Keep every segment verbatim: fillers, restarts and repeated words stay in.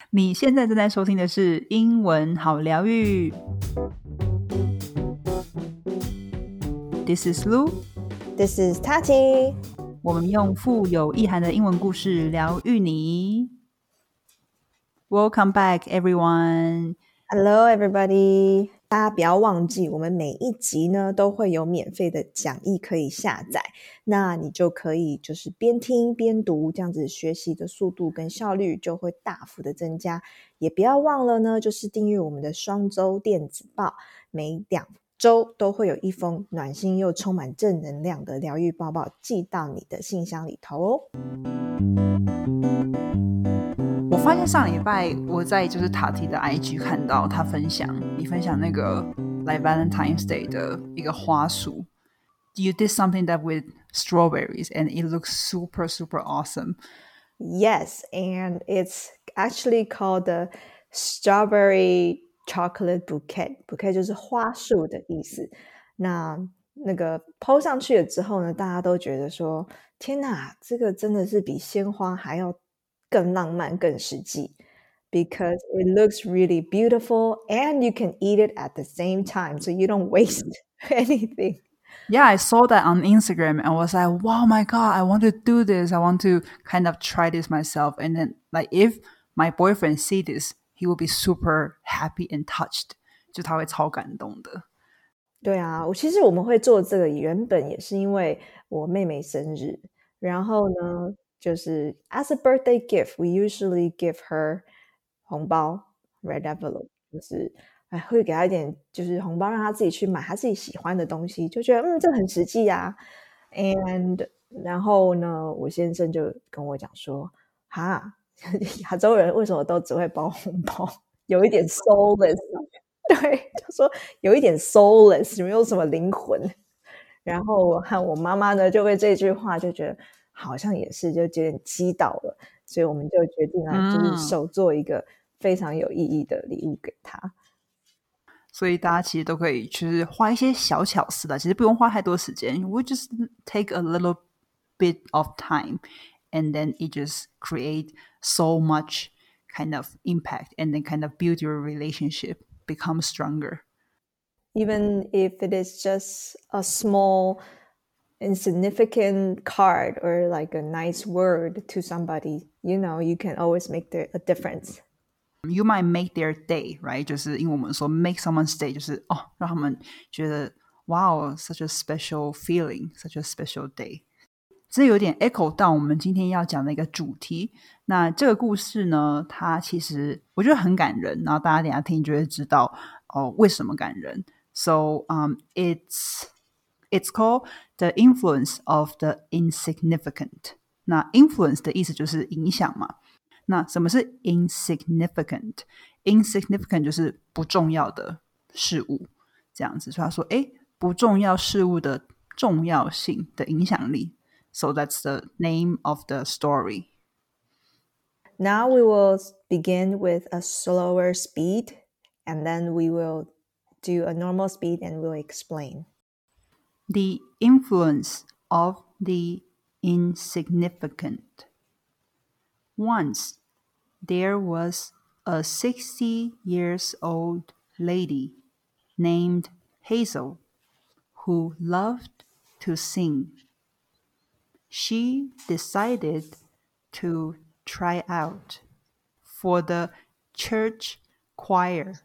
你现在正在收听的是英文好疗愈。This is Lu. This is Tati. 我们用富有意涵的英文故事疗愈你。Welcome back, everyone. Hello, everybody. 大家不要忘记，我们每一集呢都会有免费的讲义可以下载，那你就可以就是边听边读，这样子学习的速度跟效率就会大幅的增加。也不要忘了呢，就是订阅我们的双周电子报，每两周都会有一封暖心又充满正能量的疗愈报报寄到你的信箱里头哦。 我发现上礼拜我在就是塔提的 I G 看到他分享，你分享那个来 Valentine's Day 的一个花束。You did something that with strawberries and it looks super, super awesome. Yes, and it's actually called the strawberry chocolate bouquet. Bouquet 就是花束的意思。那那个 po 上去了之后呢，大家都觉得说，天哪，这个真的是比鲜花还要更浪漫、更实际。Because it looks really beautiful and you can eat it at the same time, so you don't waste anything. Yeah, I saw that on Instagram and was like, wow, my God, I want to do this. I want to kind of try this myself. And then, like, if my boyfriend see this, he will be super happy and touched. 就他会超感动的。 对啊，我其实我们会做这个，原本也是因为我妹妹生日，然后呢，就是 as a birthday gift, we usually give her 红包 red envelope， 就是哎会给她一点就是红包，让她自己去买她自己喜欢的东西，就觉得嗯这很实际啊。And 然后呢，我先生就跟我讲说，哈，亚洲人为什么都只会包红包，有一点 soulless。对，就说有一点 soulless， 没有什么灵魂。然后我和我妈妈呢，就被这句话就觉得好像也是，就有点击倒了，所以我们就决定啊，就是手做一个非常有意义的礼物给她。 所以大家其实都可以就是花一些小巧思的，其实不用花太多时间。We just take a little bit of time, and then it just create so much kind of impact, and then kind of build your relationship.Become stronger. Even if it is just a small insignificant card or like a nice word to somebody, you know, you can always make the, a difference. You might make their day, right? 就是因为我们说 make someone's day 就是哦，让他们觉得 wow, such a special feeling, such a special day. 这有点 echo 到我们今天要讲的一个主题。那这个故事呢，它其实我觉得很感人，然后大家等一下听就会知道哦为什么感人。So um, it's it's called the influence of the insignificant. 那 influence 的意思就是影响嘛。那什么是 insignificant? Insignificant 就是不重要的事物，这样子。所以他说，诶，不重要事物的重要性的影响力。So that's the name of the story. Now we will begin with a slower speed, and then we will do a normal speed and we'll explain. The influence of the insignificant. Once there was a sixty years old lady named Hazel who loved to sing. She decided to try out for the church choir.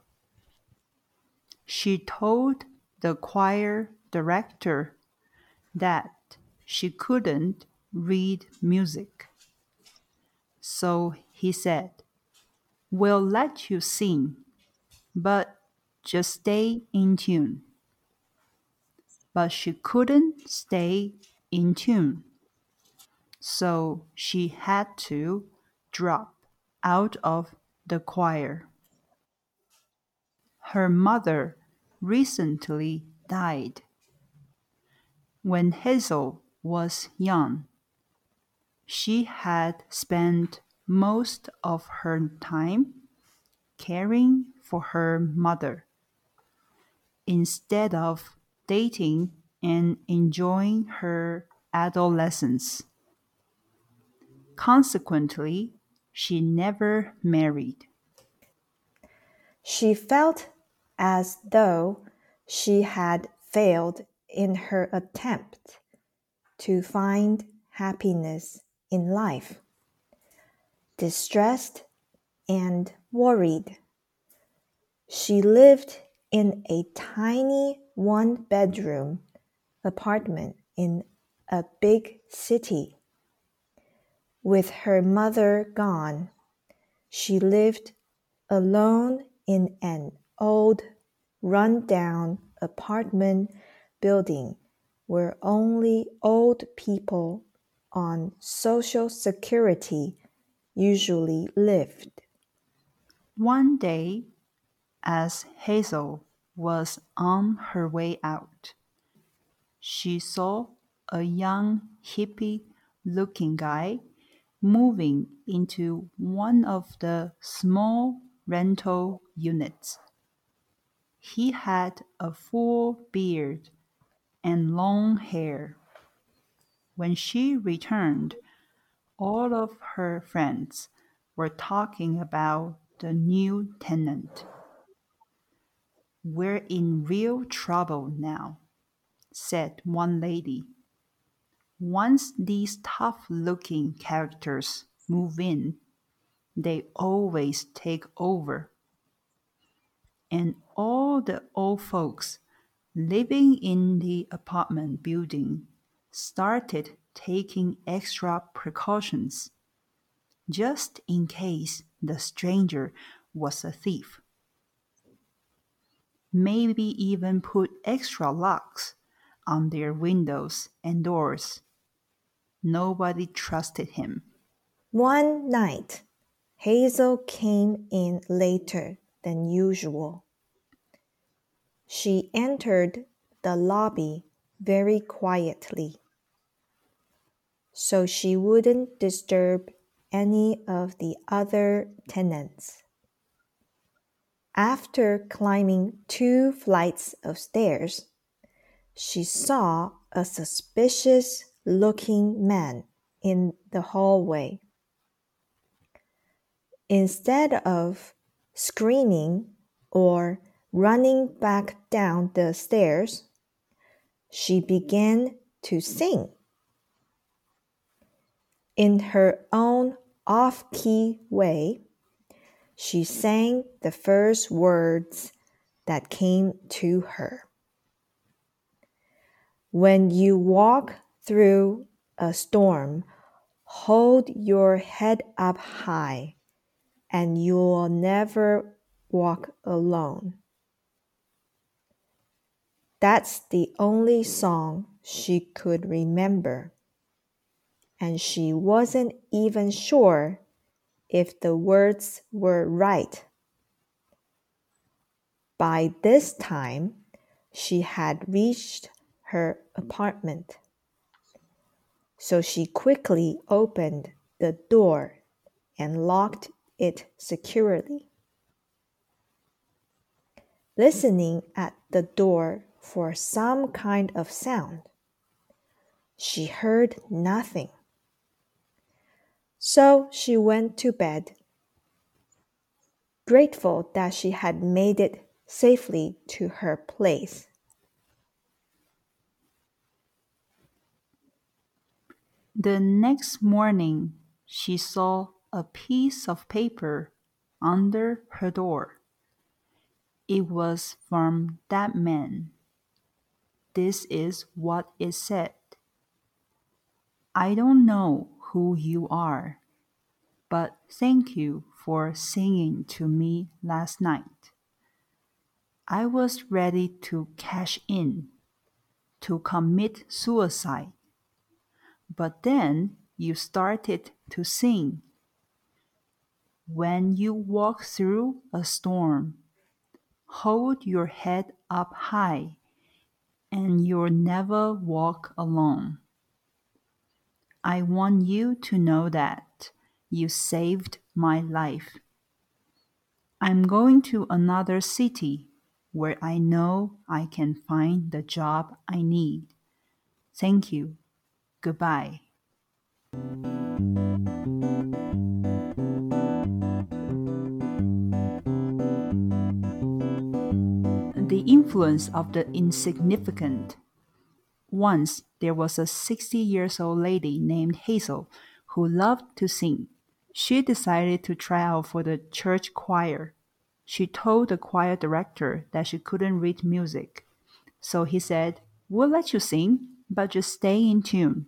She told the choir director that she couldn't read music. So he said, "We'll let you sing, but just stay in tune." But she couldn't stay in tune. So she had to drop out of the choir. Her mother recently died. When Hazel was young, she had spent most of her time caring for her mother instead of dating and enjoying her adolescence. Consequently, she never married. She felt as though she had failed in her attempt to find happiness in life. Distressed and worried, she lived in a tiny one-bedroom apartment in a big city. With her mother gone, she lived alone in an old, run-down apartment building where only old people on Social Security usually lived. One day, as Hazel was on her way out, she saw a young hippie-looking guy moving into one of the small rental units. He had a full beard and long hair. When she returned, all of her friends were talking about the new tenant. "We're in real trouble now," said one lady. "Once these tough-looking characters move in, they always take over. And all the old folks living in the apartment building started taking extra precautions, just in case the stranger was a thief. Maybe even put extra locks on their windows and doors. Nobody trusted him." One night, Hazel came in later than usual. She entered the lobby very quietly, so she wouldn't disturb any of the other tenants. After climbing two flights of stairs, she saw a suspicious-looking man in the hallway. Instead of screaming or running back down the stairs, she began to sing. In her own off-key way, she sang the first words that came to her. "When you walk through a storm, hold your head up high, and you'll never walk alone." That's the only song she could remember, and she wasn't even sure if the words were right. By this time, she had reached her apartment, so she quickly opened the door and locked it securely. Listening at the door for some kind of sound, she heard nothing. So she went to bed, grateful that she had made it safely to her place. The next morning, she saw a piece of paper under her door. It was from that man. This is what it said: "I don't know who you are, but thank you for singing to me last night. I was ready to cash in, to commit suicide. But then you started to sing. When you walk through a storm, hold your head up high, and you'll never walk alone. I want you to know that you saved my life. I'm going to another city where I know I can find the job I need. Thank you. Goodbye." The influence of the insignificant. Once there was a sixty years old lady named Hazel who loved to sing. She decided to try out for the church choir. She told the choir director that she couldn't read music. So he said, "We'll let you sing, but just stay in tune."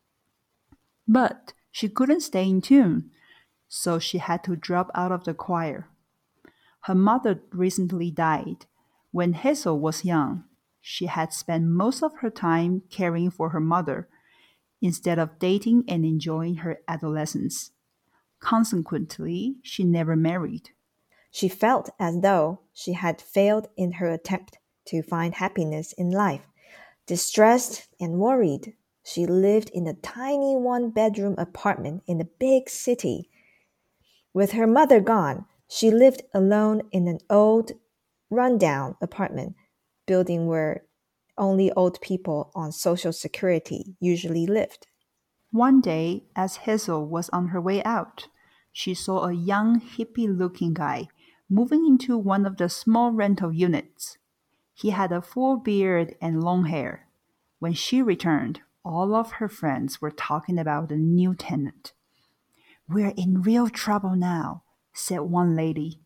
But she couldn't stay in tune, so she had to drop out of the choir. Her mother recently died. When Hazel was young, she had spent most of her time caring for her mother instead of dating and enjoying her adolescence. Consequently, she never married. She felt as though she had failed in her attempt to find happiness in life. Distressed and worried, she lived in a tiny one-bedroom apartment in a big city. With her mother gone, she lived alone in an old, run-down apartment building where only old people on Social Security usually lived. One day, as Hazel was on her way out, she saw a young, hippie-looking guy moving into one of the small rental units. He had a full beard and long hair. When she returned, all of her friends were talking about the new tenant. "We're in real trouble now," said one lady.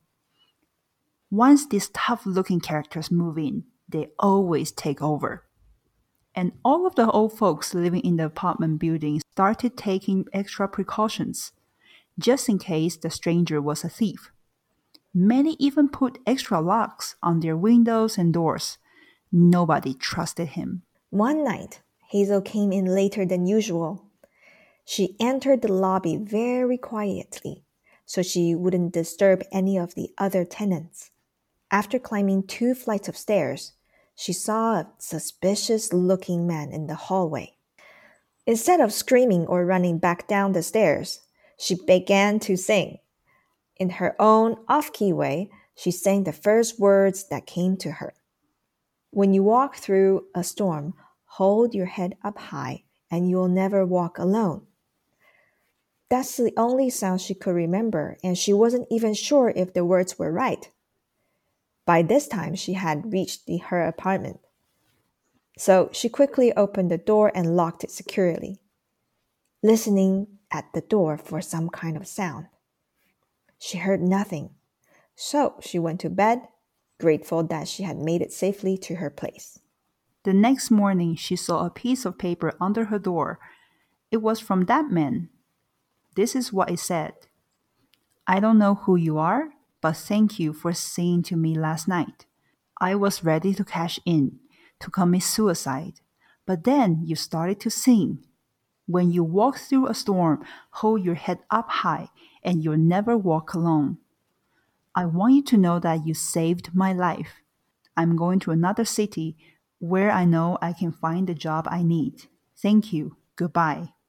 "Once these tough-looking characters move in, they always take over." And all of the old folks living in the apartment building started taking extra precautions, just in case the stranger was a thief. Many even put extra locks on their windows and doors. Nobody trusted him. One night, Hazel came in later than usual. She entered the lobby very quietly, so she wouldn't disturb any of the other tenants. After climbing two flights of stairs, she saw a suspicious-looking man in the hallway. Instead of screaming or running back down the stairs, she began to sing. In her own off-key way, she sang the first words that came to her. "When you walk through a storm, hold your head up high, and you'll never walk alone." That's the only sound she could remember, and she wasn't even sure if the words were right. By this time, she had reached the, her apartment. So she quickly opened the door and locked it securely, listening at the door for some kind of sound. She heard nothing, so she went to bed, grateful that she had made it safely to her place. The next morning, she saw a piece of paper under her door. It was from that man. This is what it said. "I don't know who you are, but thank you for singing to me last night. I was ready to cash in, to commit suicide, but then you started to sing. When you walk through a storm, hold your head up high, and you'll never walk alone. I want you to know that you saved my life. I'm going to another city where I know I can find the job I need. Thank you. Goodbye."